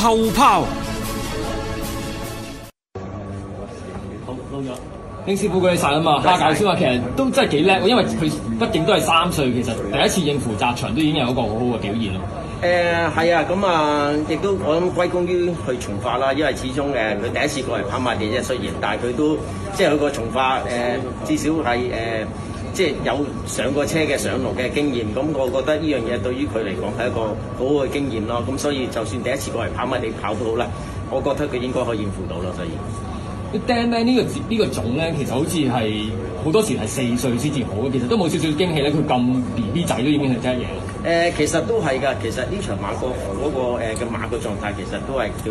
後炮。 好撈咗。丁師傅嗰啲晒啊嘛，蝦餃先話其實都真係幾叻，因為佢畢竟都係3歲，其實第一次應付擲場都已經有一個好好嘅表現咯。 係啊，咁啊，亦都我諗歸功於佢從化啦，因為始終佢第一次過嚟跑馬地啫，雖然，但係佢都即係佢個從化至少係即係有上過車嘅上路嘅經驗，咁我覺得呢樣嘢對於佢嚟講係一個好好嘅經驗咯。咁所以就算第一次過嚟跑馬地跑都好啦，我覺得佢應該可以應付到咯。所以。 Dan Man 呢個種咧，其實好似係好多時係4歲先至好，其實都冇少少驚喜咧。佢咁 BB 仔都已經係真係嘢。 其實都係㗎。其實呢場馬嗰個嘅馬個狀態其實都係叫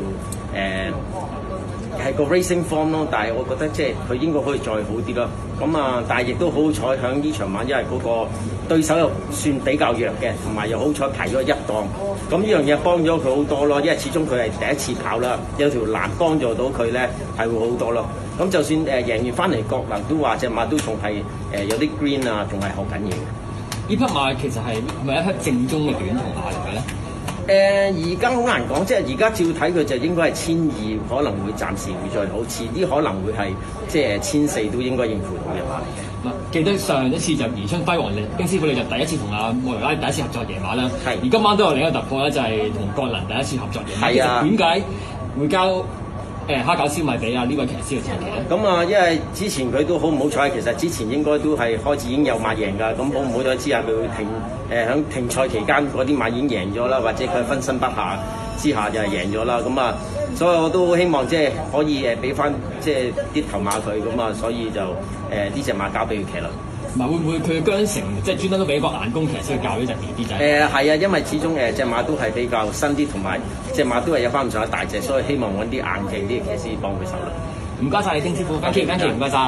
係個 racing form 咯。但係我覺得即係佢應該可以再好啲咯。咁啊，但係亦都好彩響呢場馬，因為嗰個對手又算比較弱嘅，同埋又好彩排咗一檔。咁呢樣嘢幫咗佢好多咯，因為始終佢係第一次跑啦，有條欄幫助到佢咧，係會好多咯。咁就算贏完翻嚟，國能都話隻馬都仲係有啲 green 啊，仲係學緊嘢。 呢匹馬其實係咪一匹正宗嘅短途馬嚟嘅咧？ 而家好難講，即係而家照睇佢就應該係1200，可能會暫時會再好，遲啲可能會係即係1400都應該應付到嘅馬。 記得上一次就宜春輝煌丁師傅你就第一次同阿莫雷拉第一次合作野馬啦， 係。 而今晚都有另一個突破咧，就係同國能第一次合作野馬。 係啊。 點解會交蝦餃燒賣俾呢位騎師嘅前期咧？ 咁啊，因為之前佢都好唔好彩，其實之前應該都係開始已經有馬贏㗎。咁好唔好彩之下，佢會響停賽期間嗰啲馬已經贏咗啦，或者佢分身不下之下就係贏咗啦。咁啊，所以我都希望即係可以俾翻即係啲頭馬佢咁啊，所以就呢隻馬交俾佢騎啦。 唔係會唔會佢嘅韁繩即係專登都俾個眼工騎師去教呢隻 BB 仔？ 係啊，因為始終隻馬都係比較新啲，同埋隻馬都係有翻咁上下大隻，所以希望揾啲硬淨啲嘅騎師幫佢手啦。 唔該晒你丁師傅，thank you，唔該晒。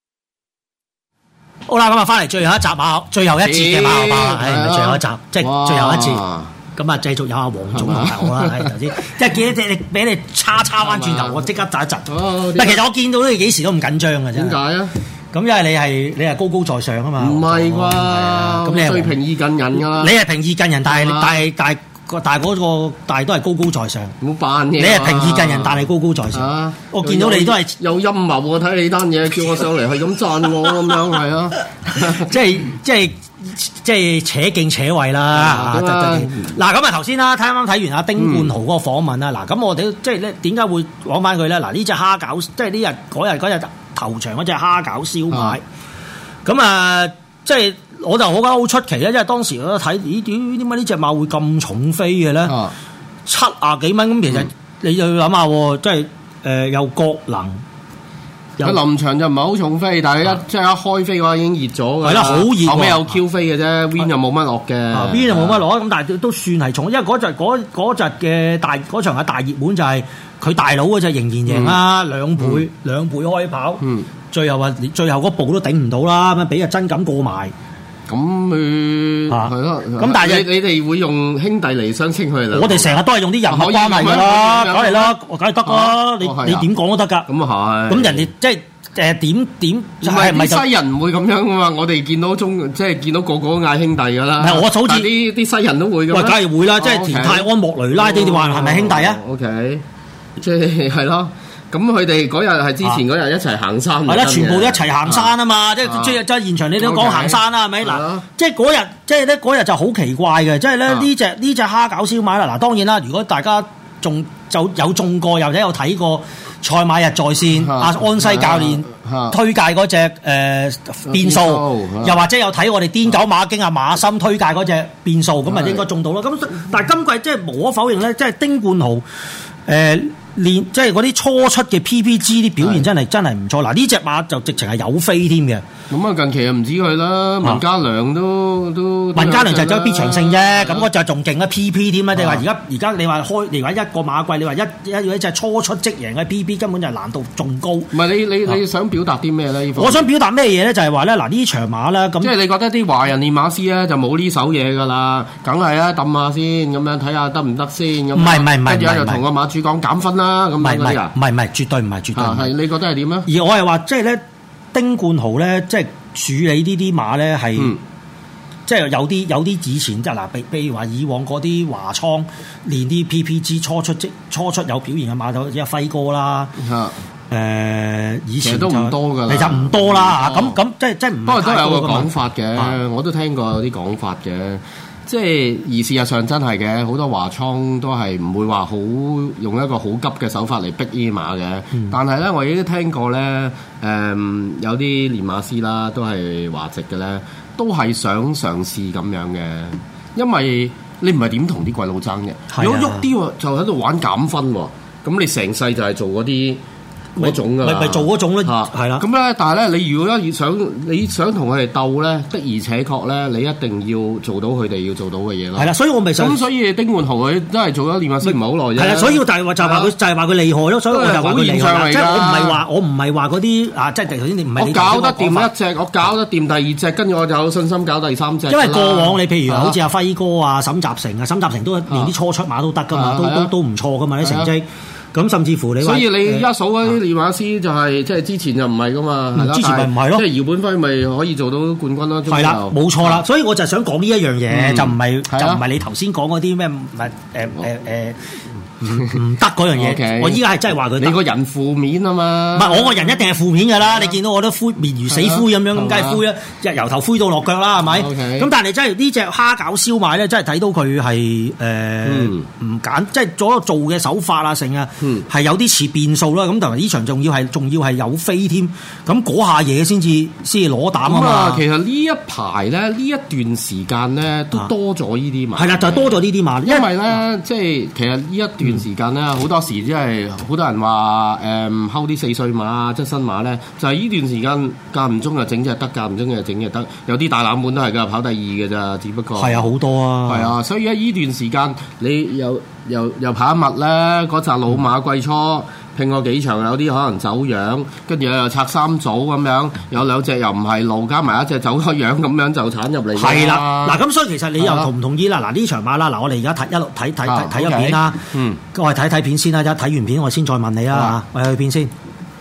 好啦，咁啊，翻嚟最後一集馬，最後一節嘅馬後炮啦，係最後一集，即係最後一節。咁啊，繼續有阿黃總同埋我啦，係頭先，即係見到你俾你叉翻轉頭，我即刻窒一窒。但其實我見到你幾時都唔緊張嘅啫。點解啊？咁因為你係高高在上啊嘛。唔係啩？咁你係最平易近人㗎啦。你係平易近人，但係都係高高在上。唔好扮嘢。你係平易近人，但係高高在上。我見到你都係有陰謀喎，睇你單嘢，叫我上嚟係咁讚我咁樣，係啊。即係扯勁扯位啦。嗱咁啊，頭先啦，啱啱睇完阿丁冠豪嗰個訪問啦。嗱咁我哋即係咧點解會講翻佢咧？嗱呢隻蝦餃，即係呢日嗰日頭場嗰隻蝦餃燒賣。咁啊，即係我就好覺得好出奇咧，因為當時我都睇，咦點解呢隻馬會咁重飛嘅咧？70幾蚊咁，其實你就要諗下，即係有國能。佢臨場就唔係好重飛，但係即係一開飛嘅話已經熱咗㗎。係啦，好熱。後尾有 Q 飛嘅啫 ，Win 又冇乜落嘅。Win 就冇乜落，咁但係都算係重，因為嗰陣嘅嗰場嘅大熱門就係佢大佬嗰隻仍然贏啦，兩倍開跑。最後嗰步都頂唔到啦，咁俾阿真錦過埋。咁係咯。咁但係你哋會用兄弟嚟相稱佢哋？我哋成日都係用啲人物關係㗎啦，梗係啦，梗係得啦。你點講都得㗎。咁啊係。咁人哋即係點？係咪西人唔會咁樣㗎嘛？我哋見到即係見到個個都嗌兄弟㗎啦。唔係我好似啲西人都會㗎。喂，梗係會啦，即係田泰安、莫雷拉呢啲話係咪兄弟啊 ？OK， 即係咯。咁佢哋嗰日係之前嗰日一齊行山，係啦，全部都一齊行山啊嘛！即係現場你都講行山啦，係咪？嗱，即係嗰日就好奇怪嘅，即係咧呢隻蝦餃燒賣啦。嗱，當然啦，如果大家就有中過，又或者有睇過賽馬日在線，阿安西教練推介嗰隻變數，又或者有睇我哋癲狗馬經阿馬森推介嗰隻變數，咁啊應該中到啦。咁但係今季即係無可否認咧，即係丁冠豪即係嗰啲初出嘅 PPG 啲表現真係唔錯。嗱呢隻馬就直情係有飛添嘅。咁啊近期又唔止佢啦，文家良都文家良就走必長勝啫。咁嗰隻仲勁啊 PP 添啦。你話而家你話一個馬季，你話一隻初出即贏嘅 PP 根本就係難度仲高。唔係你想表達啲咩咧？我想表達咩嘢咧？就係話咧嗱呢場馬咧咁。即係你覺得啲華人練馬師咧就冇呢手嘢㗎啦，梗係啊揼下先咁樣睇下得唔得先咁。唔係，跟住就同個馬主講減分啦。唔係，絕對唔係，絕對唔係。你覺得係點咧？而我係話，即係咧，丁冠豪咧，即係處理呢啲馬咧，係即係有啲以前即係嗱，譬如話以往嗰啲華倉練啲 PPG 初出有表現嘅馬頭，即係輝哥啦。以前都唔多㗎啦， 其實唔多啦嚇。咁即係唔。不過都有個講法嘅，我都聽過有啲講法嘅。即係而事實上真係嘅，好多華倉都係唔會話好用一個好急嘅手法嚟逼呢啲馬嘅。但係咧，我亦都聽過咧，有啲練馬師啦，都係華籍嘅咧，都係想嘗試咁樣嘅，因為你唔係點同啲鬼佬爭嘅，如果喐啲就喺度玩減分喎，咁你成世就係做嗰啲。嗰種㗎， 咪做嗰種咯，係啦。 咁咧，但係咧，你如果你想同佢哋鬥咧，的而且確咧，你一定要做到佢哋要做到嘅嘢咯。 係啦，所以我咪想。咁所以丁冠豪佢都係做咗練馬師唔係好耐啫。係啦， 所以就係話佢厲害咯。所以我就話佢厲害。即係我唔係話嗰啲啊，即係頭先你唔係。我搞得掂一隻，我搞得掂第二隻，跟住我就有信心搞第三隻。因為過往你譬如好似阿輝哥啊、沈集成都連啲初出馬都得㗎嘛，都唔錯㗎嘛啲成績。咁甚至乎你話，所以你而家數嗰啲練馬師就係即係之前就唔係噶嘛，之前咪唔係咯，即係姚本輝咪可以做到冠軍咯。係啦，冇錯啦，所以我就係想講呢一樣嘢，就唔係你頭先講嗰啲咩唔得嗰樣嘢，我依家係真係話佢。你個人負面啊嘛，唔係我個人一定係負面㗎啦。你見到我都面如死灰咁樣，咁梗係灰啦，由頭灰到落腳啦，係咪？咁但係真係呢隻蝦餃燒賣咧，真係睇到佢係唔揀，即係做嘅手法啊，成啊，係有啲似變數啦。咁同埋呢場仲要係有飛添，咁嗰下嘢先至攞膽啊嘛。其實呢一排咧，呢一段時間咧都多咗呢啲馬。係啦，就係多咗呢啲馬，因為咧即係其實呢一段時間咧，好多時即係好多人話睺啲4歲馬、側身馬咧，就係呢段時間間唔中就整隻得，間唔中就整隻得。有啲大冷門都係㗎，跑第二嘅咋，只不過係啊，好多啊，係啊，所以喺呢段時間你又跑一密咧，嗰紮老馬季初拼過幾場，有啲可能走樣，跟住又拆3組咁樣，有2隻又唔係路，加埋一隻走咗樣咁樣就鏟入嚟。係啦，嗱咁所以其實你又同唔同意啦？嗱呢場馬啦，嗱我哋而家一路睇咗片啦，我哋睇片先啦，一睇完片我先再問你啦嚇，我哋去片先。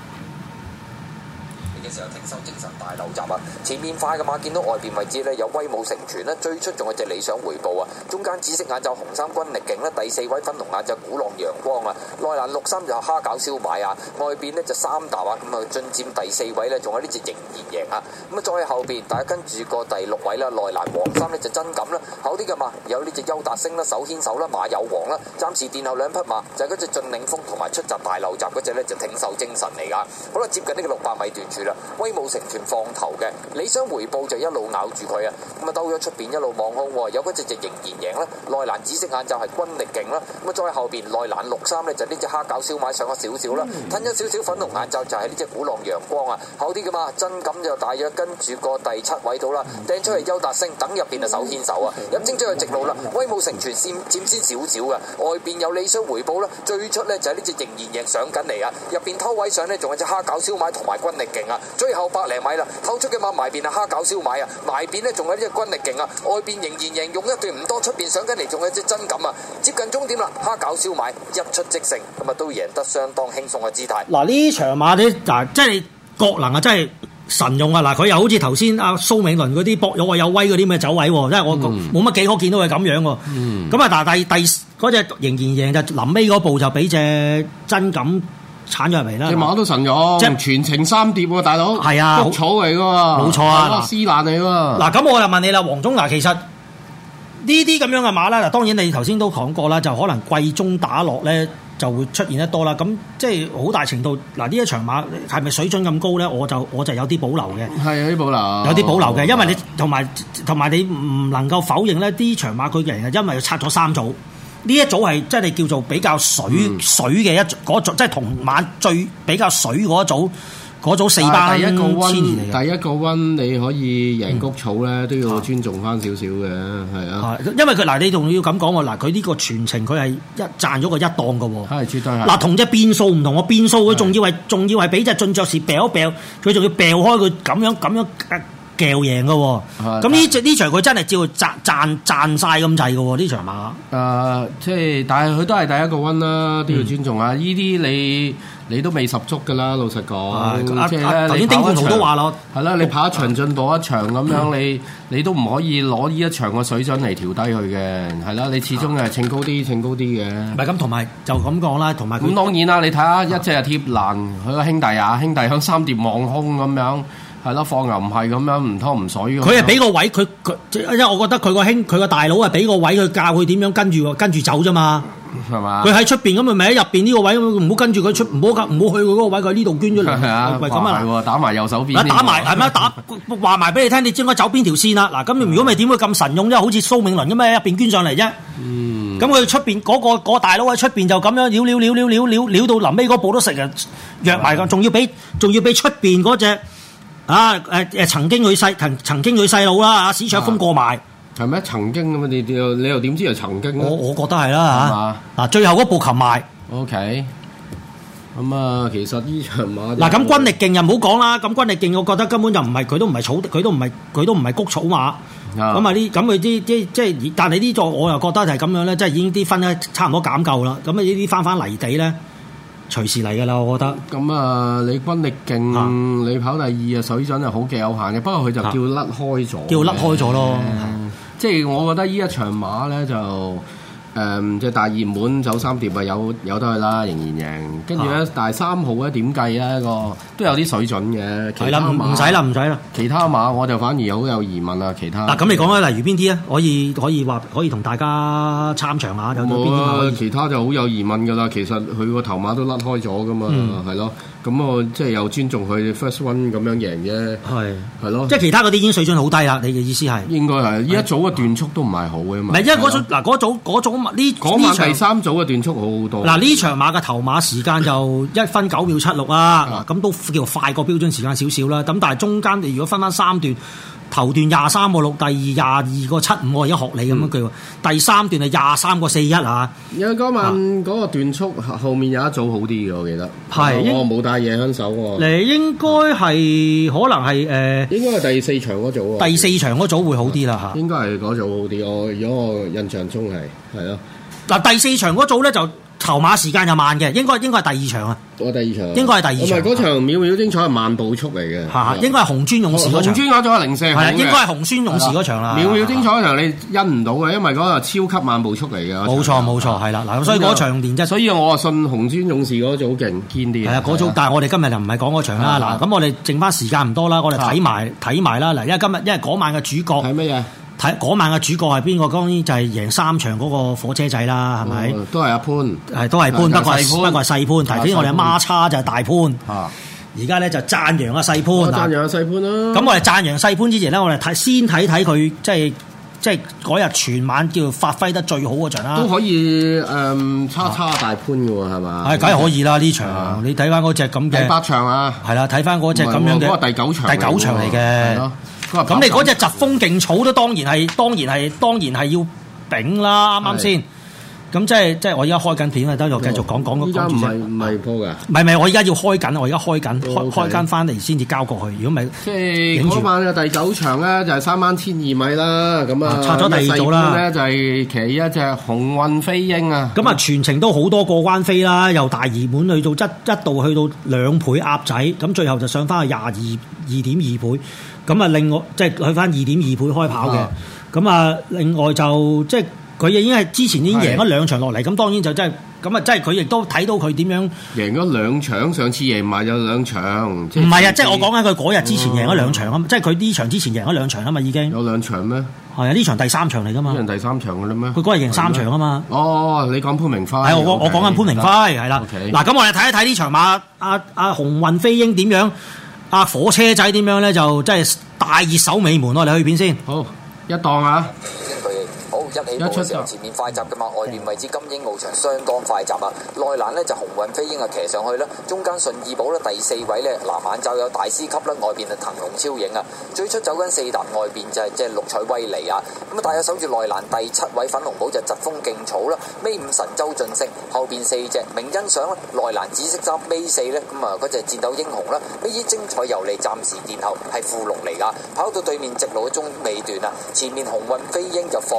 前面快嘅馬，見到外邊位置咧有威武成全咧，最出仲有隻理想回報啊！中間紫色眼罩紅衫軍力勁咧，第4位粉紅眼罩鼓浪陽光啊！內欄63就蝦餃燒賣啊！外邊呢就3搭啊！咁啊進佔第4位咧，仲有呢隻仍然贏啊！咁啊再後邊，大家跟住個第6位啦，內欄黃衫呢就真感啦，後啲嘅馬有呢隻優達星啦，手牽手啦，馬有王啦，暫時殿後2匹馬就係嗰隻駿領風同埋出閘大漏閘嗰隻咧就挺秀精神嚟噶，好啦，接近呢個600米段處啦，威武成全放頭嘅。理想回報就一路咬住佢啊，咁啊兜咗出邊一路望空，有嗰隻就仍然贏啦。內欄紫色眼罩係軍力勁啦，咁啊再後邊內欄63呢就呢隻蝦餃燒賣上咗少少啦，褪咗少少粉紅眼罩就係呢隻鼓浪陽光啊，後啲噶嘛真感就大約跟住個第7位到啦，掟出嚟優達星等入邊就手牽手啊，入精咗去直路啦，威武成全佔先少少嘅，外邊有理想回報啦，最出呢就係呢隻仍然贏上緊嚟啊，入邊偷位上呢仲有隻蝦餃燒賣同埋軍力勁啊，最後100零米啦，偷出嘅馬埋邊啊蝦餃燒賣啊，埋邊呢仲有呢隻軍力勁啊，外邊仍然贏用一段唔多，出邊上緊嚟仲有隻真感啊，接近終點啦，蝦餃燒賣一出即勝，咁啊都贏得相當輕鬆嘅姿態。 嗱呢場馬你嗱即係你國能啊，真係神用啊！嗱佢又好似頭先阿蘇美倫嗰啲博有有威嗰啲咩走位，即係我冇乜幾可見到佢咁樣喎。咁啊但係第嗰隻仍然贏就臨尾嗰步就俾隻真感鏟咗入嚟啦，隻馬都神咗，即係全程3碟喎，大佬。係啊，谷草嚟噶喎，冇錯啊，絲爛嚟喎。嗱咁我就問你啦，黃總嗱，其實呢啲咁樣嘅馬啦，嗱當然你頭先都講過啦，就可能季中打落咧就會出現得多啦。咁即係好大程度嗱，呢一場馬係咪水準咁高咧？我就有啲保留嘅。係有啲保留，有啲保留嘅，因為你同埋你唔能夠否認咧，呢場馬佢嘅人係因為拆咗3組。呢一組係即係你叫做比較水嘅嗰組，即係同馬最比較水嗰組4班千年嚟嘅。第一個溫你可以贏谷草咧，都要尊重翻少少嘅，係啊。因為佢嗱，你仲要咁講喎，嗱佢呢個全程佢係賺咗個1檔嘅喎。係絕對係。嗱同隻變數唔同，我變數佢仲要係俾隻進爵士掉一掉，佢仲要掉開佢咁樣。撬贏嘅喎，咁呢場佢真係照賺晒咁滯嘅喎，呢場馬。即係但係佢都係第一個溫啦，都要尊重下。呢啲你都未十足㗎啦，老實講。即係頭先丁冠豪都話咯， 係啦，你跑一場進步一場咁樣，你都唔可以攞呢一場個水準嚟調低佢嘅，係啦，你始終係稱高啲嘅。 唔係咁，同埋就咁講啦，同埋咁當然啦，你睇下一隻係貼欄，佢個兄弟響三碟望空咁樣。係咯，放牛唔係咁樣唔拖唔水嘅。佢係俾個位佢，因為我覺得佢個大佬係俾個位佢教佢點樣跟住走啫嘛。 係嘛？ 佢喺出邊咁咪喺入邊呢個位，唔好跟住佢出，唔好去佢嗰個位，佢喺呢度捐咗嚟。 係啊，咁啊，係打埋右手邊。 打埋係咩？話埋俾你聽，你應該走邊條線啦。嗱，咁如果咪點會咁神勇啫？好似蘇銘倫咁喺入邊捐上嚟啫。咁佢出邊嗰個大佬喺出邊就咁樣撩到臨尾嗰步都食人約埋㗎，仲要俾出邊嗰隻。曾經佢細佬啦，史卓峰過埋係咩？曾經咁啊？你又點知係曾經？ 我覺得係啦嚇。嗱，最後嗰步擒埋。 OK。咁啊，其實呢場馬嗱，咁軍力勁又唔好講啦。咁軍力勁，我覺得根本就唔係佢都唔係谷草馬。咁啊啲咁佢啲即係，但係呢座我又覺得係咁樣咧，即係已經啲分咧差唔多減夠啦。咁啊呢啲翻泥地咧。隨時嚟㗎啦，我覺得。咁啊，你軍力勁，你跑第二啊，水準係好極有限嘅。不過佢就叫甩開咗。叫甩開咗咯。 即係我覺得呢一場馬咧就即係大熱門走三碟啊，有得去啦，仍然贏。跟住咧，但係3號咧點計咧個都有啲水準嘅。 係啦，唔使啦。 其他馬我就反而好有疑問啊。其他嗱， 咁你講咧，例如邊啲啊？可以同大家參詳下，有邊啲馬？ 其他就好有疑問㗎啦。其實佢個頭馬都甩開咗㗎嘛，係咯。咁我即係又尊重佢 first one 咁樣贏啫。係咯。即係其他嗰啲已經水準好低啦。你嘅意思係？ 應該係呢一組嘅段速都唔係好嘅嘛。 唔係，因為嗰組呢場第三組嘅段速好好多。 嗱，呢場馬嘅頭馬時間就1分9秒76啊，咁都叫快過標準時間少少啦。咁但係中間你如果分翻3段，頭段23個6，第二22個75，我而家學你咁樣句喎。第三段係23個41啊。 有嗰晚嗰個段速後面有一組好啲嘅，我記得。係。我冇帶嘢喺手喎。 你應該係可能係應該係第4場嗰組喎。 第4場嗰組會好啲啦嚇。 應該係嗰組好啲，如果我印象中係咯。 嗱，第4場嗰組咧就頭馬時間就慢嘅，應該係第2場啊。 第2場。 應該係第2場。 唔係嗰場秒秒精彩係慢步速嚟嘅。 嚇，應該係紅磚勇士嗰場。 紅磚嗰組係04。 係，應該係紅磚勇士嗰場啦。 秒秒精彩嗰場你因唔到嘅，因為嗰個超級慢步速嚟嘅。 冇錯，係啦。嗱，所以嗰場連質。 所以我信紅磚勇士嗰組勁堅啲。係啊， 嗰組，但係我哋今日就唔係講嗰場啦。嗱，咁我哋剩翻時間唔多啦，我哋睇埋啦。嗱，因為嗰晚嘅主角係乜嘢？ 嗰晚嘅主角係邊個？當然就係贏3場嗰個火車仔啦，係咪？ 都係阿潘， 都係潘，不過係細潘。頭先我哋孖叉就係大潘。而家咧就讚揚阿細潘。 讚揚阿細潘啦。 咁我哋讚揚細潘之前咧，我哋先睇佢即係嗰日全晚叫發揮得最好嗰場啦。 都可以叉大潘嘅喎，係嘛？ 係，梗係可以啦呢場。你睇翻嗰隻咁嘅。 第8場啊。係啦，睇翻嗰隻咁樣嘅。 嗰個第9場。 第9場嚟嘅。咁你嗰隻疾風勁草都當然係要頂啦，啱啱先？咁即係我而家開緊片啊，等我繼續講。 依家唔係播㗎。 唔係，我而家要開緊，我而家開緊翻嚟先至交過去。如果唔係， 即係嗰晚嘅第9場咧，就係3萬1000米啦。咁啊， 拆咗第2組啦。 咧就係騎一隻鴻運飛鷹啊。 咁啊，全程都好多過關飛啦，由大熱門去到一度去到2倍鴨仔，咁最後就上翻去22.2倍。咁啊，另外即係去翻2.2倍開跑嘅，咁啊，另外就即係佢已經係之前已經贏咗2場落嚟，咁當然就真係咁啊，即係佢亦都睇到佢點樣贏咗2場，上次贏埋有2場。唔係啊，即係我講緊佢嗰日之前贏咗2場啊，即係佢呢場之前贏咗2場啊嘛，已經有 2場咩？ 係啊，呢場第3場嚟噶嘛？ 呢場第3場嘅啦咩？ 佢嗰日贏3場啊嘛。 哦，你講潘明輝。 係我講緊潘明輝係啦。嗱，咁我哋睇一睇呢場馬，阿鴻運飛鷹點樣？火車仔點樣咧？就真係大熱守尾門，我哋去片先。 好，一檔啊！ 一起步嘅時候，前面快閘嘅嘛，外邊位置金鷹翱翔相當快閘啊！內欄呢就鴻運飛鷹啊騎上去啦，中間順義寶咧第4位呢，藍眼罩有大師級啦，外邊係騰龍超影啊！最出走緊4搭外邊就係即係綠彩威尼啊！咁啊，大有守住內欄第7位粉紅寶就疾風勁草啦，尾5神州晉升，後邊4隻明欣賞啦，內欄紫色衫尾4呢，咁啊嗰隻戰鬥英雄啦，尾依精彩遊利暫時殿後係副6嚟噶，跑到對面直路嘅中尾段啊，前面鴻運飛鷹就放啊！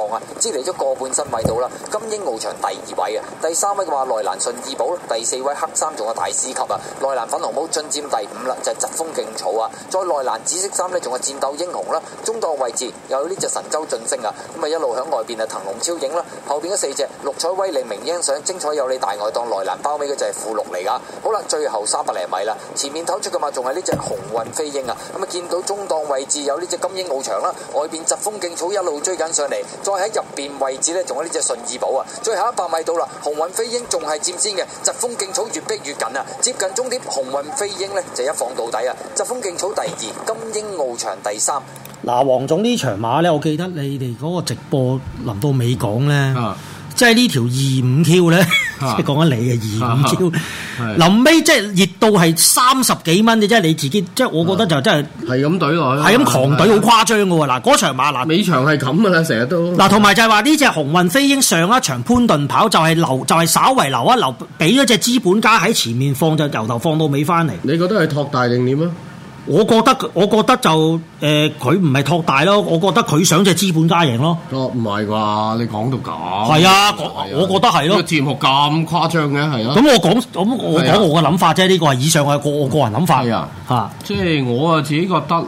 支離咗個半身位到啦。金鷹翱翔第2位啊，第3位嘅話內蘭順義寶，第4位黑衫仲有大師級啊，內蘭粉紅帽進佔第5啦，就係疾風勁草啊，再內蘭紫色衫呢，仲係戰鬥英雄啦，中檔位置又有呢隻神州晉升啊，咁啊一路響外邊啊騰龍超影啦，後邊嗰4隻六彩威利明英上精彩有你大外檔內蘭包尾嘅就係附錄嚟噶。好啦，最後300厘米啦，前面透出嘅嘛仲係呢隻鴻運飛鷹啊，咁啊見到中檔位置有呢隻金鷹翱翔啦，外邊疾風勁草一路追緊上嚟，再喺入邊位置呢，仲有呢隻順義寶啊，最後100米到啦，鴻運飛鷹仲係佔先嘅，疾風勁草越逼越緊啊，接近終點鴻運飛鷹呢，就一放到底啊，疾風勁草第2，金鷹翱翔第3。 嗱，黃總呢場馬咧，我記得你哋嗰個直播臨到尾講咧，即係呢條25Q 咧，即係講緊你嘅25Q，臨尾即係熱到係30幾蚊嘅啫，你自己即係我覺得就真係咁懟落去， 係咁狂懟好誇張嘅喎。嗱，嗰場馬嗱， 尾場係咁噶啦，成日都嗱，同埋就係話呢隻鴻運飛鷹上一場潘頓跑就係留，就係稍為留一留，俾咗隻資本家喺前面放，就由頭放到尾翻嚟。你覺得係托大定點啊？我覺得就佢唔係托大咯，我覺得佢想隻資本家贏咯。唔係啩？你講到咁係啊，我覺得係咯。個節目咁誇張嘅係啊。咁我講我嘅諗法啫，呢個係以上係我個人諗法。係啊，嚇，即係我自己覺得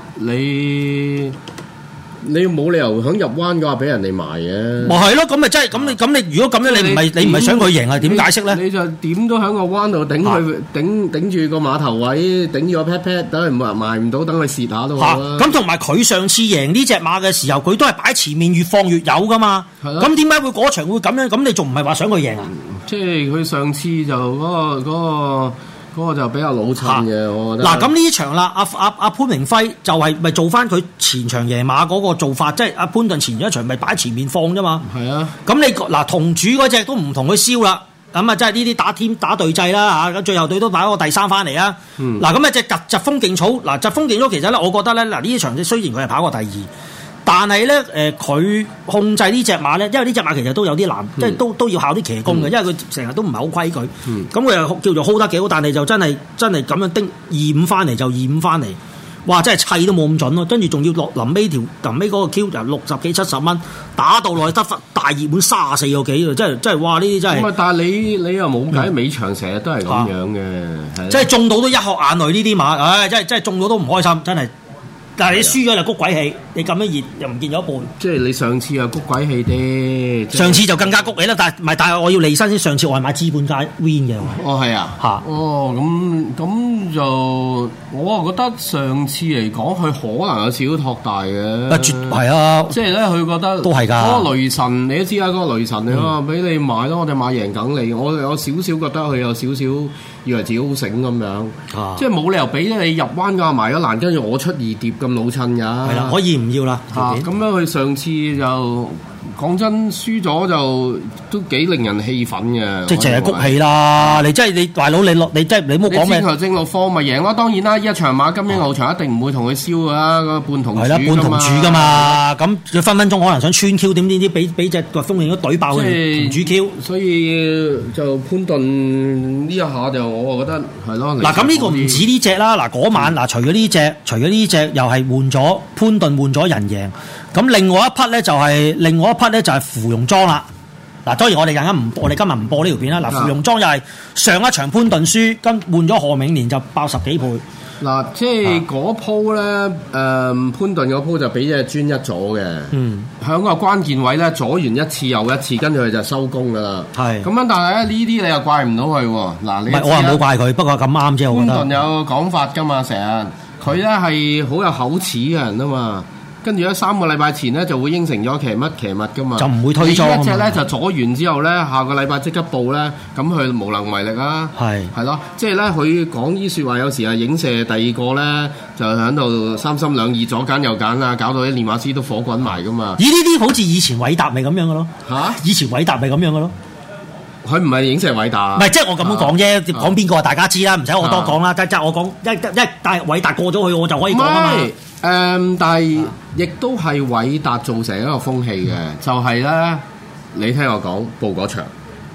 你冇理由響入彎嘅話俾人哋賣嘅。咪係咯，咁咪真係咁你如果咁樣你唔係想佢贏啊？點解釋咧？你就點都喺個彎度頂佢頂住個碼頭位，頂住個 pat pat，等佢賣唔到，等佢蝕下都好啦。咁同埋佢上次贏呢隻馬嘅時候，佢都係擺前面越放越有噶嘛。咁點解會嗰場會咁樣？咁你仲唔係話想佢贏啊？即係佢上次就嗰個就比較老襯嘅，我覺得。嗱，咁呢場啦，阿潘明輝就係咪做翻佢前場贏馬嗰個做法，即係阿潘頓前一場咪擺前面放啫嘛。係啊。咁你嗱同主嗰隻都唔同佢燒啦，咁啊即係呢啲打對制啦嚇，咁最後隊都打個第3翻嚟啊。嗱咁啊隻疾風勁草，嗱疾風勁草其實咧，我覺得咧嗱呢場雖然佢係跑過第2。但係咧，佢控制呢隻馬咧，因為呢隻馬其實都有啲難，即係都要考啲騎功嘅，因為佢成日都唔係好規矩。咁佢又叫做 hold 得幾好，但係就真係咁樣叮25翻嚟就25翻嚟，哇！真係砌都冇咁準咯。跟住仲要落臨尾嗰個 Q 就60幾70蚊，打到落去得大熱門34個幾啊！真係哇！呢啲真係。但係你又冇計，尾場成日都係咁樣嘅，即係中到都一殼眼淚呢啲馬，唉！真係中到都唔開心，真係。但係你輸咗就谷鬼氣，你咁樣熱又唔見咗一半。即係你上次又谷鬼氣啲，上次就更加谷氣啦。但係我要離身先。上次我係買資本家 win 嘅。哦，係啊。嚇。哦，咁就我啊覺得上次嚟講，佢可能有少少托大嘅。絕係啊。即係咧，佢覺得都係㗎。嗰個雷神你都知啦，嗰個雷神你話俾你買咯，我哋買贏梗你。我有少少覺得佢有少少以為自己好醒咁樣。即係冇理由俾你入彎㗎埋咗欄，跟住我出2碟咁老襯㗎。係啦，可以唔要啦。咁樣佢上次就講真輸咗就都幾令人氣憤嘅。即係淨係谷氣啦！你真係你大佬你真係你冇講咩？你先頭正落科咪贏咯。當然啦，一場馬金鷹翱翔一定唔會同佢燒㗎啦，個半同主。係啦，半同主㗎嘛。咁佢分分鐘可能想穿 Q 點俾隻個風影都懟爆佢同主 Q。所以就潘頓呢一下就我覺得係咯。嗱咁呢個唔止呢隻啦。嗱嗰晚嗱除咗呢隻又係換咗潘頓換咗人贏。咁另外一匹咧就係芙蓉莊啦。嗱，當然我哋今日唔播呢條片啦。嗱，芙蓉莊又係上一場潘頓輸，跟換咗何永年就爆10幾倍。嗱，即係嗰鋪咧，潘頓嗰鋪就俾隻專一咗嘅。喺個關鍵位咧，阻完一次又一次，跟住佢就收工噶啦。係。咁樣，但係咧呢啲你又怪唔到佢喎。嗱，你唔係我又冇怪佢，不過咁啱啫。我覺得潘頓有講法噶嘛，成日佢咧係好有口齒嘅人啊嘛。跟住咧3個禮拜前咧就會應承咗騎乜噶嘛，就唔會推裝。一隻咧就阻完之後咧，下個禮拜即刻報咧，咁佢無能為力啦。係咯，即係咧佢講啲説話有時係影射第二個咧，就喺度三心兩意左揀右揀啊，搞到啲練馬師都火滾埋噶嘛。咦？呢啲好似以前韋達咪咁樣嘅咯？嚇！以前韋達咪咁樣嘅咯？佢唔係影射韋達，唔係即係我咁樣講啫。講邊個大家知啦，唔使我多講啦。即係我講但係韋達過咗去，我就可以講啊嘛。但係亦都係韋達造成一個風氣嘅，就係咧，你聽我講報嗰場，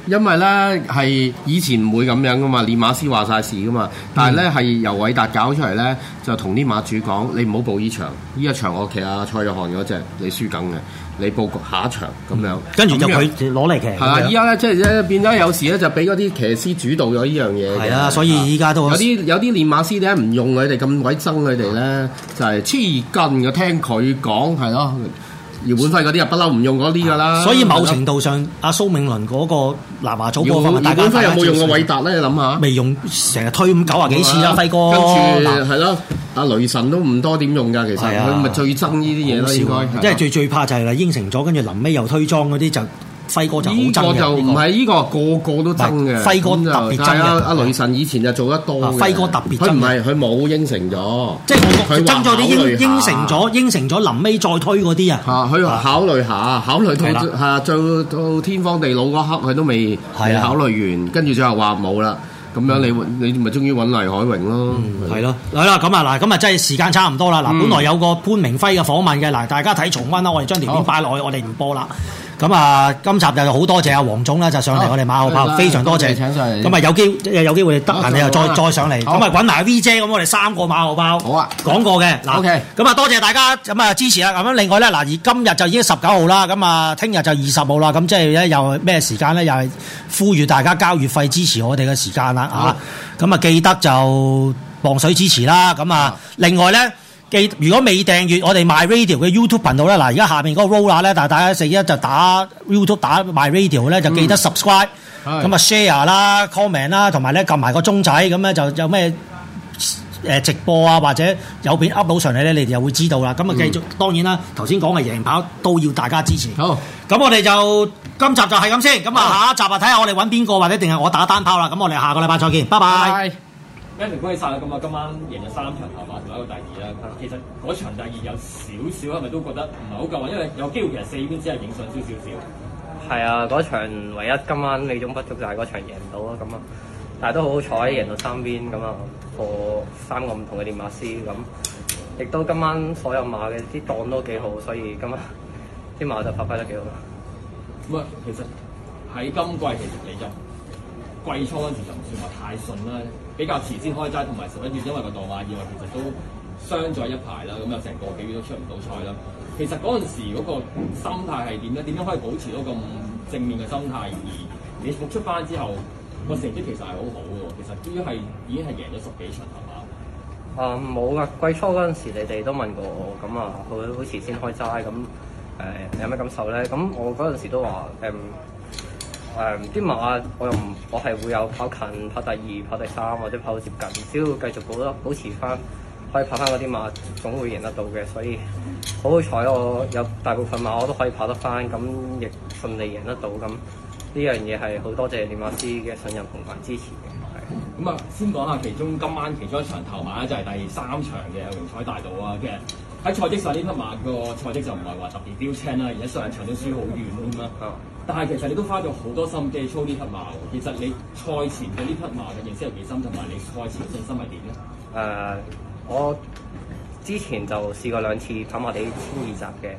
因為咧係以前唔會咁樣噶嘛，練馬師話晒事噶嘛，但係咧係由韋達搞出嚟咧，就同啲馬主講：你唔好報呢場，呢一場我騎阿蔡約翰嗰隻，你輸梗嘅，你報下一場咁樣。 跟住就佢攞嚟騎。 係啊，依家咧即係變咗有時咧就俾嗰啲騎師主導咗呢樣嘢。 係啊，所以依家都有啲練馬師點解唔用佢哋咁鬼憎佢哋咧？就係黐筋嘅，聽佢講係咯。姚本輝嗰啲啊，不嬲唔用嗰啲噶啦。所以某程度上，阿蘇銘倫嗰個南華早波， 姚本輝有冇用過韋達咧？你諗下， 未用，成日推咁90幾次啦，輝哥。 跟住係咯，阿雷神都唔多點用㗎，其實佢咪最憎呢啲嘢咯，應該。 即係最怕就係應承咗，跟住臨尾又推裝嗰啲就。輝哥就好憎嘅， 呢個就唔係呢個個都憎嘅。 輝哥特別憎嘅。 阿雷神以前就做得多嘅。 輝哥特別憎。 佢冇應承咗， 即係佢憎咗啲應承咗臨尾再推嗰啲啊。 佢考慮下，考慮到做到天荒地老嗰刻，佢都未考慮完，跟住最後話冇啦。咁樣你咪終於揾黎海榮咯。 係咯，係啦，咁啊真係時間差唔多啦。嗱，本來有個潘明輝嘅訪問嘅，嗱，大家睇重溫啦，我哋將條片擺落去，我哋唔播啦。咁啊，今集就好多謝阿黃總啦，就上嚟我哋馬後炮，非常多謝。咁啊，有機會得閒你又再上嚟，咁啊揾埋 V 姐，咁我哋3個馬後炮。好啊，講過嘅。嗱，咁啊多謝大家咁啊支持啦。咁樣另外咧，嗱，而今日就已經19號啦，咁啊聽日就20號啦，咁即係咧又咩時間咧？又係呼籲大家交月費支持我哋嘅時間啦，嚇。咁啊記得就磅水支持啦。咁啊另外咧。如果未訂閱我哋 My Radio 嘅 YouTube 頻道咧，嗱而家下面嗰個 roller 咧，但係大家11就打 YouTube 打 My Radio 咧，就記得 subscribe，咁啊 share 啦、comment 啦，同埋咧撳埋個鐘仔，咁咧就有咩直播啊或者有片 up 到上嚟咧，你哋又會知道啦。咁啊繼續，當然啦，頭先講嘅贏跑都要大家支持。好，咁我哋就今集就係咁先，咁啊下一集啊睇下我哋揾邊個或者定係我打單炮啦。咁我哋下個禮拜再見，拜拜。 恭喜晒啦！咁啊，今晚贏咗3場頭馬，仲有一個第2啦。其實嗰場第2有少係咪都覺得唔係好夠啊？因為有機會其實4邊只係影上少。 係啊，嗰場唯一今晚美中不足就係嗰場贏唔到啊，咁啊，但係都好好彩贏到3邊咁啊，破3個唔同嘅練馬師咁，亦都今晚所有馬嘅啲檔都幾好，所以今晚啲馬就發揮得幾好啦。 咁啊，其實喺今季其實你就季初嗰陣時就唔算話太順啦。比較遲先開齋，同埋11月因為個墮馬意外，其實都傷咗一排啦，咁有成個幾月都出唔到賽啦。其實嗰陣時嗰個心態係點咧？點樣可以保持到咁正面嘅心態？而你復出翻之後，個成績其實係好好嘅喎。其實已經係贏咗10幾場係嘛？ 冇噶，季初嗰陣時你哋都問過我，咁啊好遲先開齋，咁有咩感受咧？咁我嗰陣時都話啲馬我係會有跑近、跑第2、跑第3或者跑到接近，只要繼續保持翻，可以跑翻嗰啲馬，總會贏得到嘅。所以好好彩，我有大部分馬我都可以跑得翻，咁亦順利贏得到。咁呢樣嘢係好多謝練馬師嘅信任同埋支持嘅。 咁啊，先講下今晚其中一場頭馬咧，就係第3場嘅榮彩大道啊。其實喺賽績上呢匹馬個賽績就唔係話特別標青啦，而且上場都輸好遠添啦。但係其實你都花咗好多心機操呢匹馬喎。其實你賽前對呢匹馬嘅認識有幾深，同埋你賽前嘅信心係點咧？ 我之前就試過2次跑馬地1002集嘅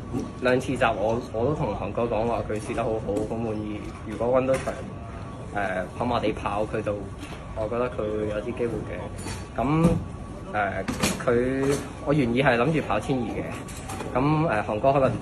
，2次集我都同韓哥講話佢試得好好，好滿意。如果揾到場跑馬地跑佢就，我覺得佢會有啲機會嘅。咁我原意係諗住跑1002嘅。咁韓哥可能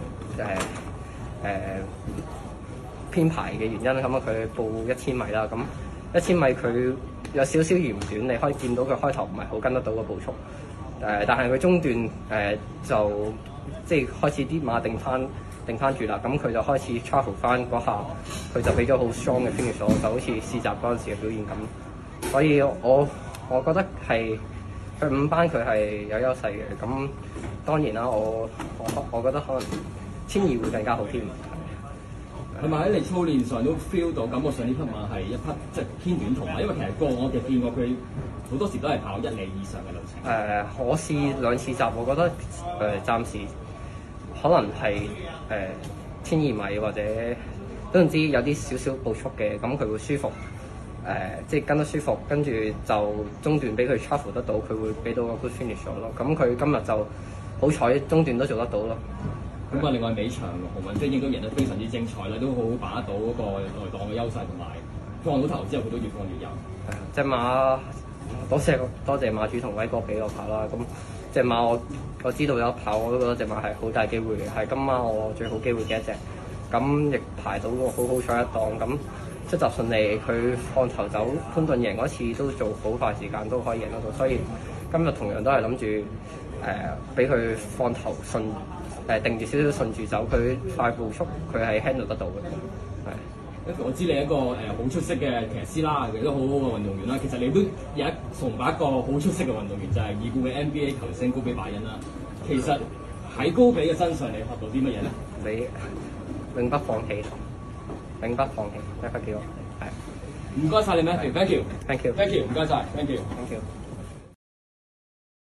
編排嘅原因，咁啊佢報1000米啦。咁1000米佢有少少嫌短，你可以見到佢開頭唔係好跟得到個步速。但係佢中段就即係開始啲馬定翻住啦。咁佢就開始 travel 翻嗰下，佢就俾咗好 strong 嘅 finish，就好似試習嗰陣時嘅表現咁。所以我覺得係佢5班佢係有優勢嘅。咁當然啦，我覺得可能1002會更加好添。 係咪喺你操練上都 feel 到，感覺上呢匹馬係一匹即係偏短途馬？因為其實我見過佢好多時都係跑1里以上嘅路程。 我試2次集，我覺得暫時可能係1002米或者總之有啲少少步速嘅，咁佢會舒服。即係跟得舒服，跟住就中段俾佢 travel 得到，佢會俾到個 good finish 咯。咁佢今日就好彩中段都做得到咯。 咁啊，另外尾場洪文晶亦都贏得非常之精彩啦，都好好把握到嗰個內檔嘅優勢，同埋放到頭之後佢都越放越有。 隻馬多謝馬主同威哥俾我跑啦。咁隻馬我知道有跑，我都覺得隻馬係好大機會嘅，係今晚我最好機會嘅一隻。咁亦排到個好彩一檔，咁出閘順利，佢放頭走，潘頓贏嗰次都做好快時間都可以贏得到，所以今日同樣都係諗住俾佢放頭順定住少少順住走，佢快步速佢係 handle 得到嘅，係。 我知你一個好出色嘅騎師啦，亦都好好嘅運動員啦。其實你都有崇拜一個好出色嘅運動員，就係已故嘅 NBA 球星高比拜恩啦。其實喺高比嘅身上，你學到啲乜嘢咧？ 你永不放棄，永不放棄，一個叫我係。 唔該晒你 Matthew，thank you，thank you， 唔該晒，thank you。